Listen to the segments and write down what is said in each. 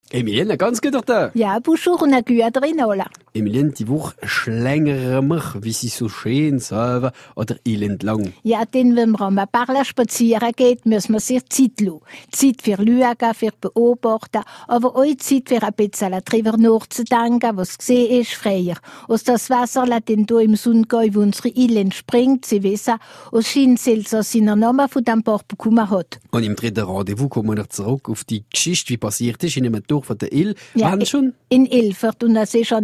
Emilienne, ganz gut da. Ja, bonjour und eine gute Rinola. Emilienne, die Woche schlängern wir, wie sie so schön sagen, oder elend lang. Ja, denn wenn man am Parla spazieren geht, müssen wir sich Zeit lassen. Zeit für schauen, für beobachten, aber auch Zeit für ein bisschen darüber nachzudenken, was gesehen ist früher. Aus das Wasser lässt denn hier im Sundgäu, wo unsere Ile entspringt, sie wissen, aus Schienselsa seinen Namen von dem Bach bekommen hat. Und im dritten Rendezvous kommen wir zurück auf die Geschichte, wie passiert ist in einem Dorf von der Ile. Ja, Wann schon? In Ilfert, und das ist schon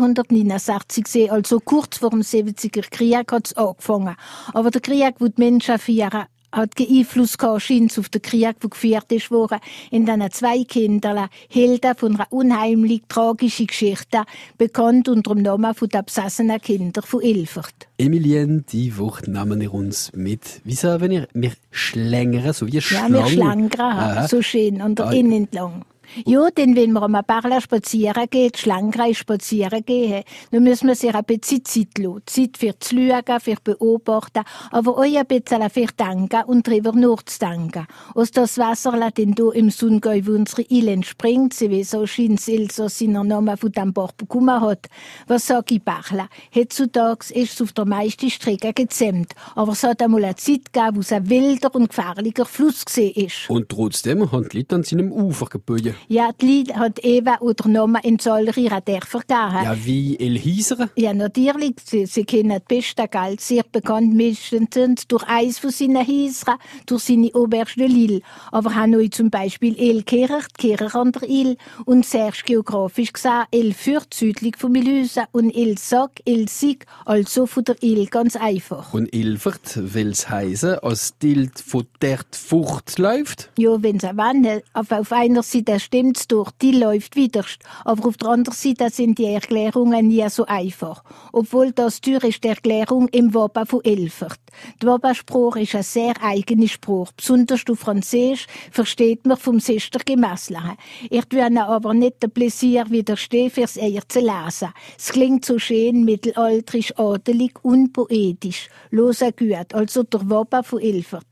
1869 gewesen, also kurz vor dem 70er Krieg hat es angefangen. Aber der Krieg, wo die Menschen führen, hat Einfluss gehabt, scheint auf den Krieg, der geführt ist worden, in diesen zwei Kindern, Helden von einer unheimlich tragischen Geschichte, bekannt unter dem Namen von den besessenen Kindern von Ilfert. Emilienne, die Woche nehmen wir uns mit. Wie sagen wir schlängern, so wie Schlangen. Ja, wir schlängern, so schön, an der Inn entlang. Ja, denn wenn man am Parla spazieren geht, schlanker spazieren gehen, dann müssen wir sich ein bisschen Zeit lassen. Zeit für zu schauen, für beobachten, aber auch ein bisschen für denken und darüber nachzudenken. Aus das Wasser lässt denn hier im Sundgäu, wo unsere Ile entspringt, sie wie so Schienselsa seinen Namen von dem Bach bekommen hat. Was sag ich Parla? Heutzutage ist es auf der meisten Strecke gezähmt, aber es hat einmal eine Zeit gegeben, wo es ein wilder und gefährlicher Fluss gewesen ist. Und trotzdem haben die Leute an seinem Ufer gebaut. Ja, die Lied hat Eva oder Namen in zahlreichen Dörfern gegeben. Ja, wie Elhieser? Ja, natürlich. Sie kennen die Beste Galt, sehr bekannt meistens durch eins von seinen Häusern, durch seine Auberge de Lille. Aber haben euch zum Beispiel Elkirch, die Kirche an der Ile, und sehr geografisch gesehen Elfürth, südlich von Milhausen, und Elsack, Elsig, also von der Ile, ganz einfach. Und Ilfert will's heißen, als die von dort Frucht läuft? Ja, wenn sie wollen, auf einer Seite stimmt's durch, die läuft widerst. Aber auf der anderen Seite sind die Erklärungen nie so einfach. Obwohl das Tür ist die Erklärung im Wappen von Ilfert. Der Wappenspruch ist ein sehr eigener Spruch. Besonders auf Französisch versteht man vom Sister Gemessen. Ich will aber nicht den Pläsier widerstehen, fürs eher zu lesen. Es klingt so schön, mittelalterisch, adelig und poetisch. Hören gut, also der Wappen von Ilfert.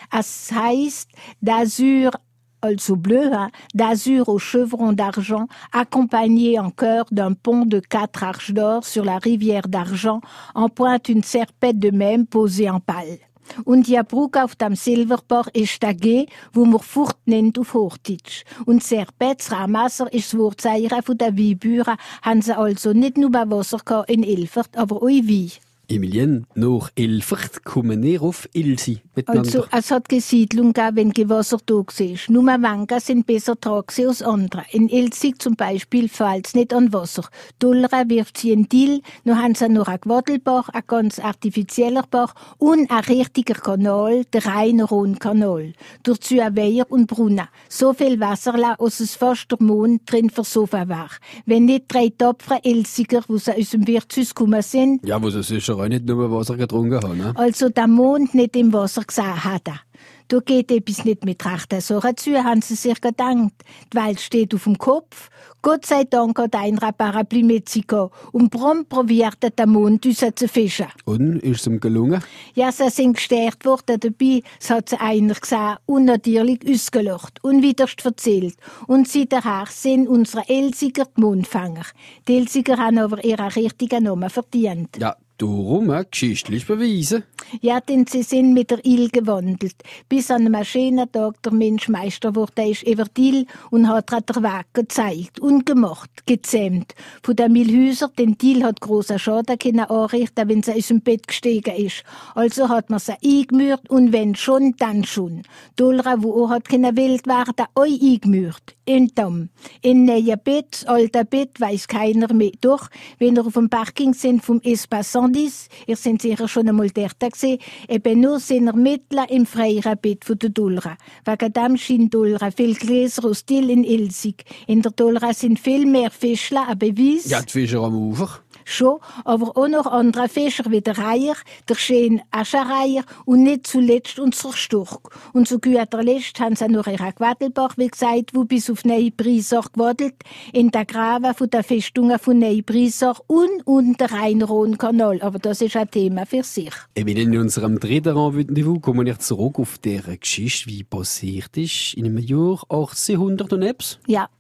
Es heisst, d'azur also bleu, d'azur aux chevrons d'argent, accompagné en chœur d'un pont de 4 arches d'or sur la rivière d'argent, en pointe une serpette de même posée en pal. Und die Brücke auf dem Silberbach ist der G, wo man Furt nennt auf Hochdeutsch. Und Serpetz, Ramasser, ist das Wortzeichen von der Weinbauern, haben sie also nicht nur Wasser in Ilfert, aber auch Wein. Emilienne, nach Ilfert kommen wir auf Ilsi miteinander. Also, es hat Gesiedlung gegeben, wenn Gewasser da war. Nur Wengen sind besser dran als andere. In Ilzig zum Beispiel fällt es nicht an Wasser. Dullera wirft sie in Dill, dann haben sie noch einen Gwadelbach, ein ganz artifizieller Bach und ein richtiger Kanal, der Rhein-Rhône-Kanal. Dazu ein Weiher und Brunnen. So viel Wasser, dass es fast der Mond drin versoffen war. Wenn nicht 3 tapfere Ilziger, die aus dem Wirtshaus gekommen sind, Ja, wo sie sicher auch nicht nur Wasser getrunken haben, ne? also der Mond nicht im Wasser gesehen hat. Da geht etwas nicht mit rechten Sachen zu, haben sie sich gedacht. Die Welt steht auf dem Kopf. Gott sei Dank hat einer ein Parapluie mit sich gehabt und prompt probiert der Mond uns zu fischen. Und, ist es ihm gelungen? Ja, sie sind gestärkt worden dabei, es hat sie einer gesehen und natürlich ausgelacht und widerst erzählt. Und seither sind unsere Elsiger die Mondfänger. Die Elsiger haben aber ihren richtigen Namen verdient. Ja, darum geschichtlich beweisen. Ja, denn sie sind mit der Il gewandelt. Bis an einem schönen Tag der Mensch Meister wurde ist über die Il und hat den Weg gezeigt und gemacht, gezähmt. Von den Milhäusern, denn die Il hat grossen Schaden können anrichten, wenn sie aus dem Bett gestiegen ist. Also hat man sie eingemürt und wenn schon, dann schon. Dolra, wo auch hat können wild werden, auch eingemürt. In Damm. In neuen Bett, das alte Bett, weiss keiner mehr. Doch, wenn ihr auf dem Parking sind vom Espace 110, ihr seid sicher schon einmal dort gesehen, eben nur sind ihr mitten im freien Bett von der Dolra. Wegen dem scheint Dolra viel Gläser aus Dill in Ilzig. In der Dolra sind viel mehr Fischler, ein Beweis. Ja, die Fischer am Ufer. Schon, aber auch noch andere Fischer wie der Reiher, der schöne Aschenreiher und nicht zuletzt unser Storch. Und zu guter Letzt haben sie noch ihren Gwadelbach, wie gesagt, wo bis auf Neubrisach gewadelt, in der Graben von der Festungen von Neubrisach und der Rhein-Rhône-Kanal. Aber das ist ein Thema für sich. In unserem dritten Rendezvous kommen wir zurück auf diese Geschichte, wie passiert ist in einem Jahr 1800 und etwas. Ja.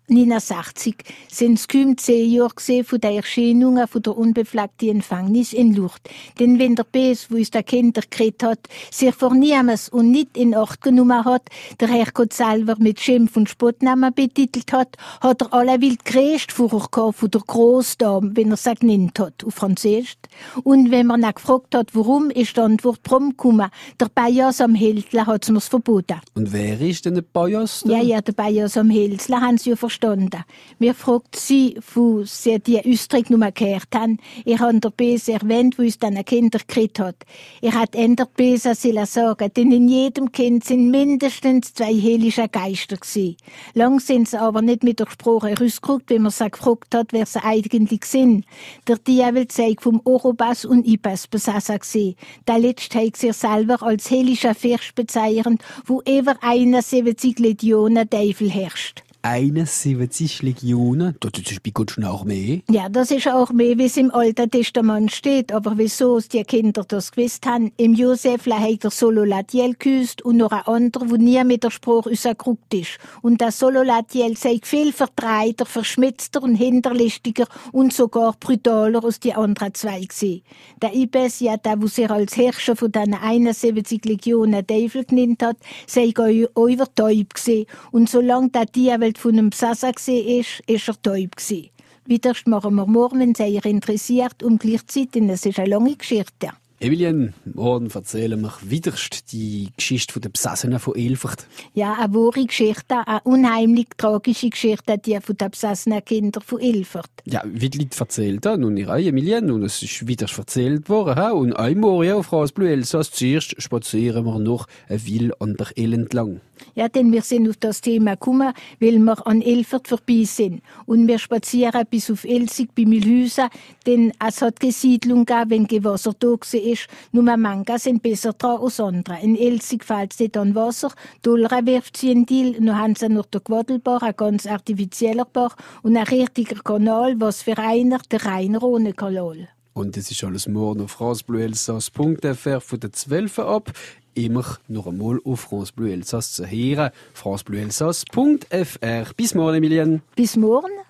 1969 sind es kaum 10 Jahre von der Erscheinung von der unbefleckten Empfängnis in Lourdes. Denn wenn der Bes, wo uns der Kinder gekriegt hat, sich vor niemals und nicht in Acht genommen hat, der Herrgott selber mit Schimpf und Spottnamen betitelt hat, hat er alle wild gräst vorher von der Grossdame, wenn er sie genannt hat, auf Französisch. Und wenn man ihn gefragt hat, warum, ist die Antwort prompt gekommen. Der Bajas am Hälsle hat es mir's verboten. Und wer ist denn der Bajas? Ja, der Bajas am Hälsle haben sie ja verstanden. Mir fragt sie, wo sie die Ausdruck nur gehört haben. Ich habe der Bes erwähnt, wo uns dann Kinder gekriegt hat. Ich hätte änder besser sagen, denn in jedem Kind sind mindestens 2 heilige Geister gewesen. Lang sind sie aber nicht mit der Sprache rausgerückt, wenn man sie gefragt hat, wer sie eigentlich sind. Der Dievel zeigt vom Orobas und Ibas besessen gewesen. Der letzte hat sich selber als heiliger Fürst bezeichnet, wo über 71 Legionen Teufel herrscht. 71 Legionen? Das ist bei Gott schon auch mehr. Ja, das ist auch mehr, wie es im Alten Testament steht. Aber wieso die Kinder das gewusst haben? Im Josef hat er Sololatiel geküsst und noch ein anderer, der nie mit der Sprache rausgerückt ist. Und das Sololatiel sei viel vertreiter, verschmitzter und hinterlistiger und sogar brutaler als die anderen 2 gewesen. Der Ibes, ja, der, der sich als Herrscher von diesen 71 Legionen Teufel genannt hat, sei übertäubt gewesen. Und solange der Dievel von einem Besasser war, ist er taub gewesen. Wiederst machen wir morgen, wenn es euch interessiert, gleichzeitig. Es ist eine lange Geschichte. Emilien, morgen erzählen wir wiederst die Geschichte der Besassenen von Elfert. Ja, eine wahre Geschichte, eine unheimlich tragische Geschichte, die von den besassenen Kindern von Elfert. Ja, wie die Leute erzählt haben, und ihr Emilien, und es ist wieder erzählt worden. Und einmal auf France Bleu Elsass, zuerst spazieren wir noch eine Weile an der Elle entlang. Ja, denn wir sind auf das Thema gekommen, weil wir an Elfert vorbei sind. Und wir spazieren bis auf Elsig bei Mühlhäusen, denn es hat keine Siedlung gegeben, wenn kein Wasser da war. Nur manche sind besser dran als andere. In Elsig fällt es nicht an Wasser, Dolra wirft sie in Deal, noch haben sie noch den Gwadelbach, ein ganz artifizieller Bach und ein richtiger Kanal, was für einer der reine Rhone-Kanal. Und das ist alles morgen auf francebleuelsass.fr von der 12 ab. Immer noch einmal auf France Bleu Elsass zu hören. francebleuelsass.fr. Bis morgen, Emilien. Bis morgen.